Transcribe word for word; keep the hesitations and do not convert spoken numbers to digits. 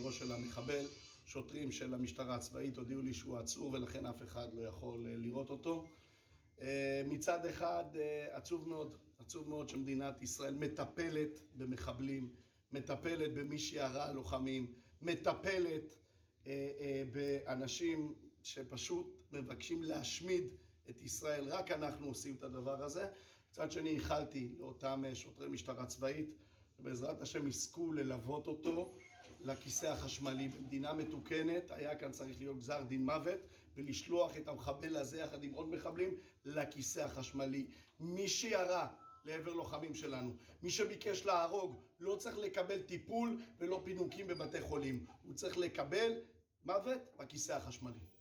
קברו של המחבל. שוטרים של המשטרה הצבאית הודיעו לי שהוא עצור ולכן אף אחד לא יכול לראות אותו. מצד אחד עצוב מאוד, עצוב מאוד שמדינת ישראל מטפלת במחבלים, מטפלת במי שירה לוחמים, מטפלת באנשים שפשוט מבקשים להשמיד את ישראל. רק אנחנו עושים את הדבר הזה. מצד שני איחלתי לאותם שוטרי משטרה צבאית ובעזרת השם יזכו ללוות אותו לכיסא החשמלי. במדינה מתוקנת היה כאן צריך להיות גזר דין מוות ולשלוח את המחבל הזה יחד עם עוד מחבלים לכיסא החשמלי. מי שירה לעבר לוחמים שלנו, מי שביקש להרוג, לא צריך לקבל טיפול ולא פינוקים בבתי חולים, הוא צריך לקבל מוות בכיסא החשמלי.